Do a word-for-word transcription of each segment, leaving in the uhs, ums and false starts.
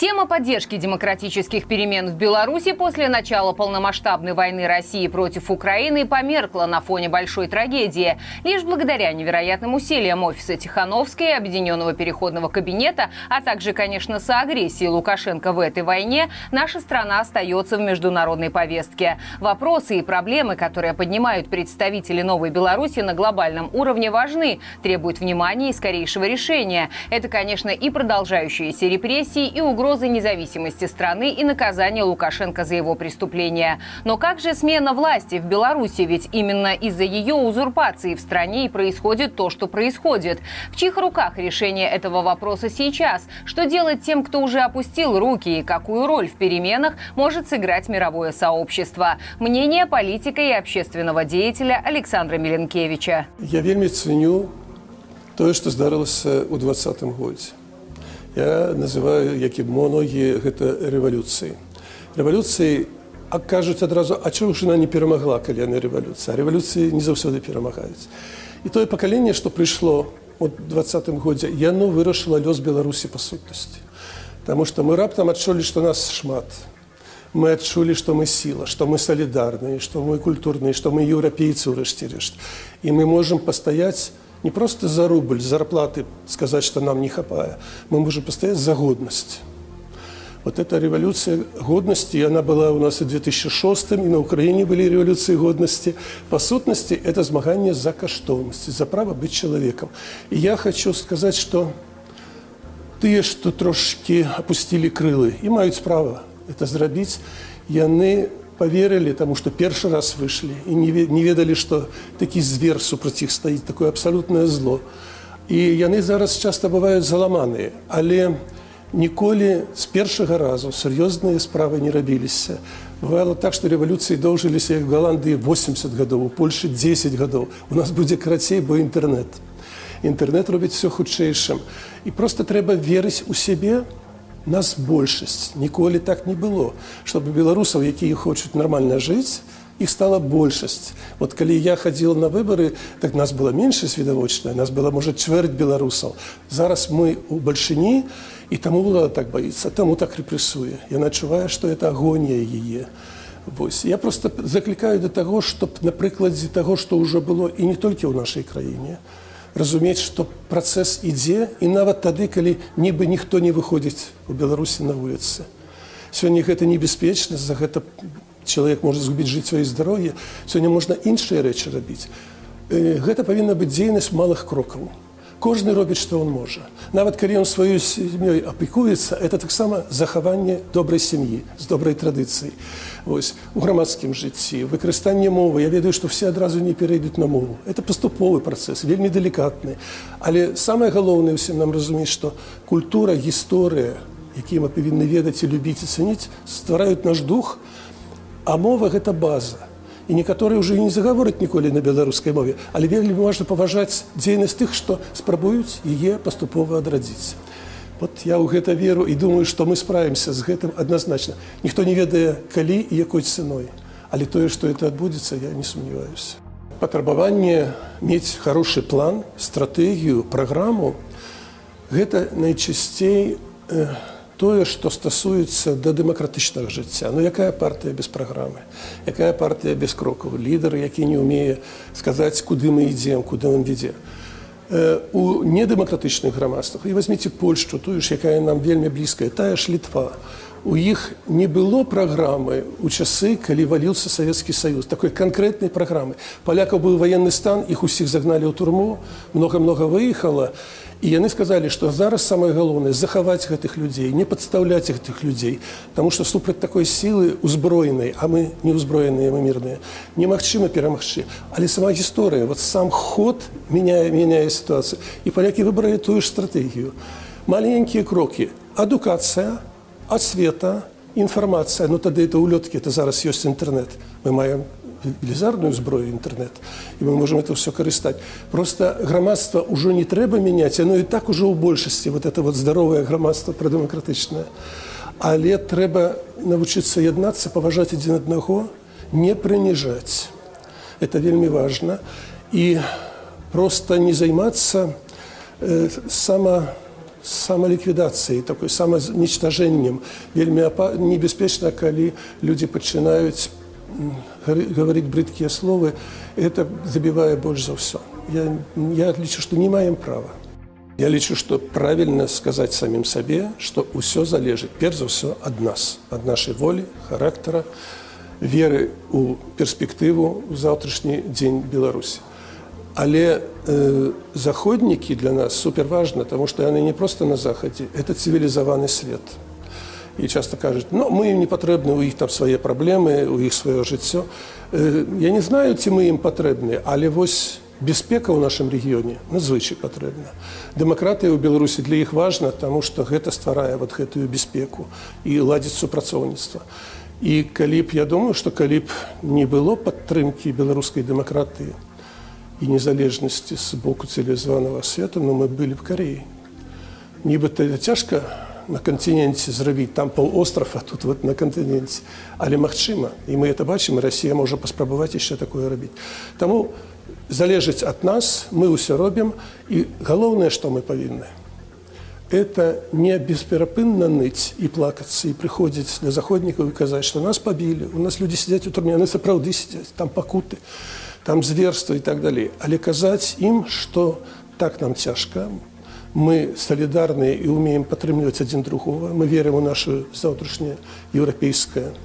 Тема поддержки демократических перемен в Беларуси после начала полномасштабной войны России против Украины померкла на фоне большой трагедии. Лишь благодаря невероятным усилиям офиса Тихановской, Объединенного переходного кабинета, а также, конечно, соагрессии Лукашенко в этой войне, наша страна остается в международной повестке. Вопросы и проблемы, которые поднимают представители Новой Беларуси на глобальном уровне, важны, требуют внимания и скорейшего решения. Это, конечно, и продолжающиеся репрессии, и угрозы угрозы независимости страны и наказания Лукашенко за его преступления. Но как же смена власти в Беларуси? Ведь именно из-за ее узурпации в стране и происходит то, что происходит. В чьих руках решение этого вопроса сейчас? Что делать тем, кто уже опустил руки? И какую роль в переменах может сыграть мировое сообщество? Мнение политика и общественного деятеля Александра Миленкевича. Я вельми ценю то, что здарилось у двадцатым годзе. Я называю, як і многие, это революцией. Революцией, а кажуть одразу, а чего ж она не перемогла, коли она революция? А революции не завсёды перемагают. И то поколение, что пришло в двадцатым годзе, яно вырашило лёс Беларуси по сутности. Потому что мы раптом отчули, что нас шмат. Мы отчули, что мы сила, что мы солидарные, что мы культурные, что мы европейцы, урешті-решт. И мы можем постоять не просто за рубль, зарплаты сказать, что нам не хапая. Мы можем постоять за годность. Вот эта революция годности, она была у нас и в две тысячи шестом, и на Украине были революции годности. По сутности, это змагание за каштовность, за право быть человеком. И я хочу сказать, что те, что трошки опустили крылы, и имеют право это зрабіць, яны поверили тому, что первый раз вышли и не ведали, что такий звер супротив их стоит, такое абсолютное зло. И яны зараз часто бывают заламанные, але ніколі с первого разу серьезные справы не робились. Бывало так, что революции доўжились, як в Голландии восемьдесят годов, у Польши десять годов. У нас будет крацей, бо интернет. Интернет робит все худшейшим. И просто треба верить у себе. Нас большасць, ніколі так не было, чтобы белорусов, якія хочуць нормально жить, их стала большасць. Вот калі я ходил на выборы, так нас было меньшасць відавочная, нас было, может, чвэрть белорусов. Зараз мы у бальшыні, и тому было так боится, тому так репрессуе. Я адчуваю, что это агонія яе. Вось. Я просто закликаю до того, чтобы на прыкладзе того, что уже было, и не только в нашей краине, разумець, што працэс ідзе, і нават тады, калі нібы ніхто не выходзіць у Беларусі на вуліцы. Сёння гэта небяспечна, за гэта чалавек можа згубіць жыццё і здароўе. Сёння можна іншыя рэчы рабіць. Гэта павінна быць дзейнасць малых крокаў. Кожны робіць, што он можа. Нават калі ён сваёй сям'ёй апекуецца, это таксама захаванне добрай сям'і, з добрай традыцыяй. Вось, у грамадскім жыцці, выкарыстанне мовы. Я ведаю, што все адразу не перейдуць на мову. Это паступовы працэс, вельмі делікатны. Але самае галоўнае ўсім нам разумець, што культура, гісторыя, якія мы павінны ведаць і любіць і цаніць, ствараюць наш дух, а мова – гэта база. І некаторыя ўжо не загавораць ніколі на беларускай мове, але вельмі важна паважаць дзейнасць тых, што спрабуюць яе паступова адрадзіць. Вот я ў гэта веру і думаю, што мы справімся з гэтым адназначна. Ніхто не ведае, калі і якой цэной. Але тое, што это адбудзецца, я не сумняваюся. Патрабаванне мець хорошы план, стратэгію, праграму – гэта найчасцей э, тое, што стасуецца да дэмакратычнага жыцця. Ну, якая партыя без праграмы? Якая партыя без крокаў? Лідар, які не ўмее сказаць, куды мы ідзем, куды он ведзе. Э, у недэмакратычных грамадствах, і возьміце Польшчу, тую ж, якая нам вельмі блізкая, тая ж Літва. У іх не было праграмы ў часы, калі валіўся Савецкі Саюз, такой канкрэтнай праграмы. Палякаў быў ваенны стан, іх усіх загналі ў турму, многа-многа выехала. І яны сказалі, што зараз самае галоўнае захаваць гэтых людзей, не падстаўляць гэтых людзей, таму што супраць такой сілы узброенай, а мы не ўзброеныя, мы мірныя, немагчыма перамагчы. Але сама гісторыя, вот сам ход мяняе, мяняе сітуацыю. І палякі выбралі тую ж стратэгію. Маленькія крокі. Адукацыя, асвета, інфармацыя. Ну тады это улёткі, это зараз ёсць інтэрнет. Мы маем велізарную зброю інтэрнет, і мы можем это все карыстаць. Просто грамадства ўжо не трэба мяняць, оно і так ужо ў большасці, вот это вот здаровае грамадства прадэмакратычнае. Але трэба навучыцца яднацца, паважаць адзін аднаго, не прыніжаць. Это вельмі важна. І просто не займацца э, сама самаліквідацыяй, такой самазнічтажэннем. Вельмі небяспечна, калі людзі пачынаюць гаварыць брыдкія словы, это забівае больш за ўсё. Я, я лічу, што не маем права. Я лічу, што правільна сказаць самім сабе, што ўсё залежыць, перш за ўсё, ад нас, ад нашай волі, характара, веры ў перспектыву ў заўтрашні дзень Беларусі. Але э, заходнікі для нас суперважна, таму што яны не проста на захадзе, это цывілізаваны свет. І часта кажуць, ну, мы ім не патрэбны, у іх там свае праблемы, у іх сваё жыццё. Э, я не знаю, ці мы ім патрэбны, але вось бяспека ў нашым рэгіёне надзвычай патрэбна. Дэмакратыя ў Беларусі для іх важна, таму што гэта стварае вот гэтую бяспеку і ладзіць супрацоўніцтва. І калі б, я думаю, што калі б не было падтрымкі беларускай дэмакратыі і незалежнасці з боку цывілізаванага свету, ну, мы былі б Кареяй. Нібыта цяжка на кантыненце зрабіць, там паўострав, а тут вот на кантыненце. Але магчыма, і мы это бачым, і Расія можа паспрабаваць яшчэ такое рабіць. Таму залежыць ад нас, мы ўсё робім, і галоўнае, што мы павінны, это не бесперапынна ныць і плакацца, і прыходзіць да заходнікаў і казаць, што нас пабілі, у нас людзі сядзяць у турме, яны сапраўды сядзяць, там пакуты, там зверства і так далей. Але казаць ім, што так нам цяжка, мы салідарныя і ўмеем падтрымліваць адзін другога, мы верым у нашу заўтрашняе еўрапейскае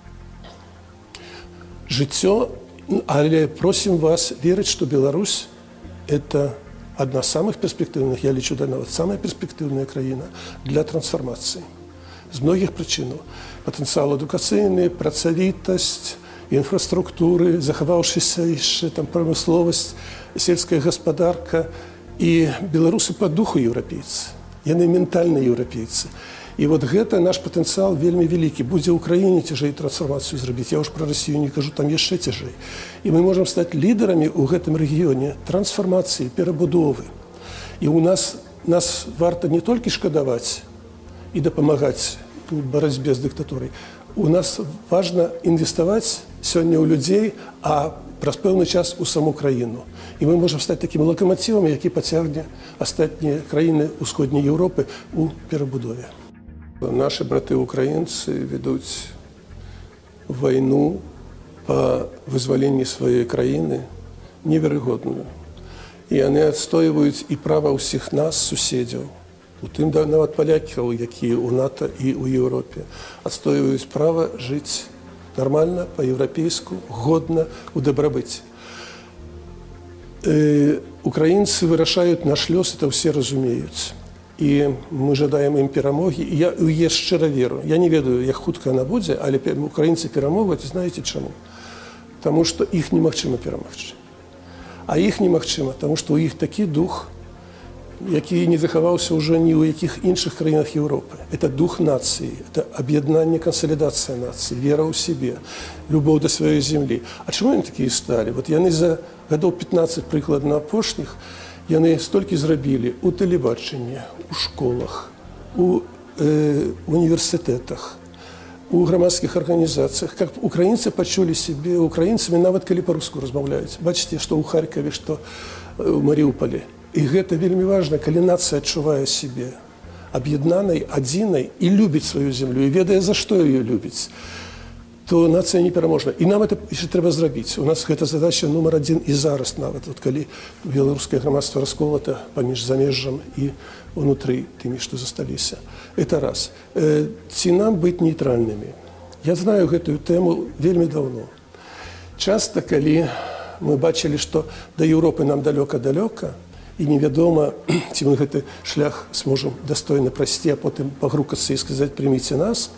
жыццё, але просім вас верыць, што Беларусь – это одна з самых перспектыўных, я лічу, нават самая перспектыўная краіна для трансфармацыі. З многіх прычынаў. Патэнцыял адукацыйны, працавітасць, інфраструктуры, захаваўшыся яшчэ там прамысловасць, сельская гаспадарка. І беларусы па духу еўрапейцы, яны ментальна еўрапейцы. І вот гэта наш патэнцыял вельмі вялікі. Будзе ў краіне цяжэй трансфармацыю зрабіць. Я ўж пра Расію не кажу, там яшчэ цяжэй. І мы можам стаць лідарамі ў гэтым рэгіёне трансфармацыі, перабудовы. І ў нас, нас варта не толькі шкадаваць і дапамагаць у барацьбе з дыктатурай. У нас важна інвеставаць сёння ў людзей, а праз пэўны час у саму краіну. І мы можам стаць такім лакаматывам, які пацягне астатнія краіны ўсходняй Еўропы ў перабудове. Нашы браты-украінцы ведуць вайну па вызваленні сваёй краіны неверагодную. І яны адстойваюць і права ўсіх нас, суседзяў, у тым нават палякаў, якія ў НАТО і ў Еўропе, адстойваюць права жыць нормально, по-европейску, годно, у дабрабыце. Э, украінцы вырашаюць наш лёс, это все разумеюць. І мы жадаем ім перамогі. І я ў яе шчыра веру. Я не ведаю, як хутка яна будзе, але украінцы перамогуць, знаеце чаму? Таму што іх немагчыма перамагчы. А іх немагчыма, таму што ў іх такі дух, які не захаваўся ўжо ні ў якіх іншых краінах Еўропы. Это дух нацыі, это аб'яднанне, кансалідацыя нацыі, вера ў сябе, любоў да сваёй зямлі. А чаму яны такія сталі? Вот яны за гадоў пятнаццаць прыкладна апошніх, яны столькі зрабілі ў тэлебачанні, у школах, у э, універсітэтах, у грамадскіх арганізацыях, каб украінцы пачулі сябе украінцамі, нават калі па-руску размаўляюць. Бачыце, што ў Харкаве, што ў Марыўполі. І гэта вельмі важна, калі нацыя адчувае сябе аб'яднанай, адзінай і любіць сваю зямлю, і ведае, за што яе любіць, то нацыя непераможна. І нам это яшчэ трэба зрабіць. У нас гэта задача нумар адзін і зараз нават, от калі беларускае грамадства расколата паміж замежжам і унутры тымі, што засталіся. Это раз. Э, ці нам быць нейтральнымі? Я знаю гэтую тэму вельмі даўно. Часта, калі мы бачылі, што да Еўропы нам далёка-далёка, і невядома, ці мы гэты шлях зможам дастойна прайсці, а потым пагрукацца і сказаць, прыміце нас.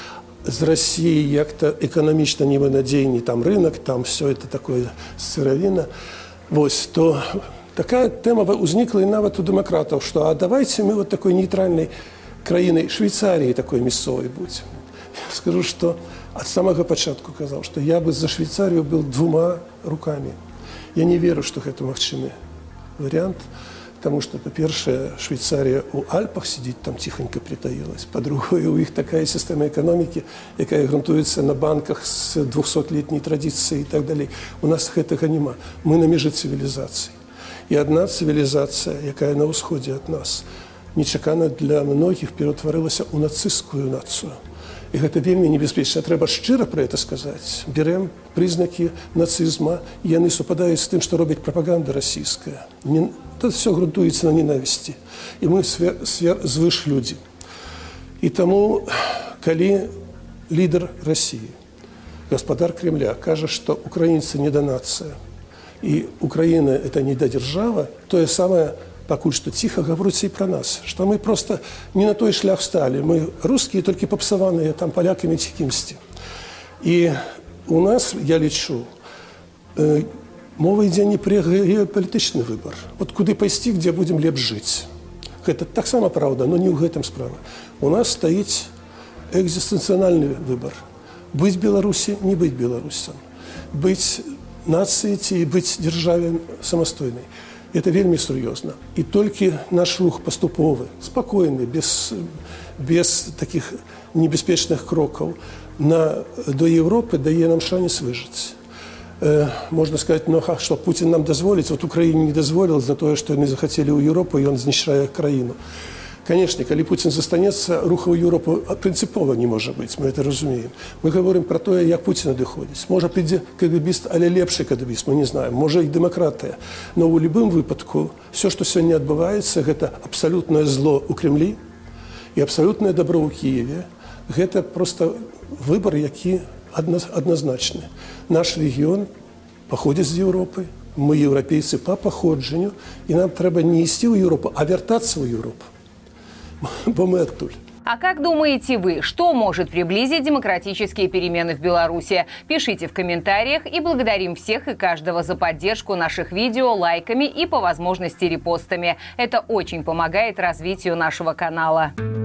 З Расіі як-то эканамічна невынадзейны, там рынок, там все это такое сыравіна. Вось, то такая тэма ўзнікла і нават у дэмакратаў, што а давайте мы вот такой нейтральнай краінай Швейцаріі такой мясцовай будзем. Скажу, што ад самага пачатку казаў, што я бы за Швейцарію был двума рукамі. Я не веру, што гэта магчымы вариант, потому что, по-першае, Швейцария у Альпах сидит, там тихонько притаилась. По-другое, у них такая система экономики, якая грунтуется на банках с двухсотлетней традицией и так далее. У нас гэтага нема. Мы на меже цивилизаций. И одна цивилизация, якая на ўсходзе от нас, нечакана для многіх ператварылася ў нацысцкую нацыю. І гэта вельмі небяспечна. Трэба шчыра пра гэта сказаць. Берем прызнакі нацызма, і яны супадаюць з тым, што робіць прапаганда расійская. Тут все грунтуецца на ненавісці. І мы звыш людзі. І таму, калі лідар Расіі, гаспадар Кремля, кажа, што украінцы не да нацыя, і Украіна – это не да дзяржава, тое самае пакуль што ціха гаворыцца і пра нас, што мы проста не на той шлях сталі. Мы рускія, толькі папсаваныя там палякамі ці кімсьці. І у нас, я лічу, мова ідзе не пра геапалітычны выбар. От куды пайсці, дзе будзем лепш жыць. Гэта таксама праўда, но не ў гэтым справа. У нас стаіць экзістэнцыянальны выбар. Быць Беларусі, не быць беларусам. Быць нацыяй ці быць дзяржаве самастойнай. Это вельмі сур'ёзна. І толькі наш рух паступовы, спакойны, без, без такіх небяспечных крокаў на, до Европы дае нам шанец выжыць. Э, можна сказаць, ну, што Пуцін нам дазволіць, вот Украіне не дазволіў за тое, што яны захацелі ў Еўропу, і ён знішчае краіну. Канешне, калі Пуцін застанецца, руха ў Еўропу прынцыпова не можа быць, мы это разумеем. Мы гаворым пра тое, як Пуцін надыходзіць. Можа прыйдзе кагебіст, але лепшы кагебіст, мы не знаем. Можа і дэмакратыя. Но ў любым выпадку все, што сёння адбываецца, гэта абсалютнае зло ў Кремлі і абсалютнае дабро ў Кіеве. Гэта проста выбар, які адназначны. Наш рэгіён паходзіць з Еўропы. Мы еўрапейцы па паходжанню, і нам трэба не ісці ў Еўропу, а вяртацца ў Еўропу. Бо мы оттуль. А как думаете вы, что может приблизить демократические перемены в Беларуси? Пишите в комментариях, и благодарим всех и каждого за поддержку наших видео лайками и по возможности репостами. Это очень помогает развитию нашего канала.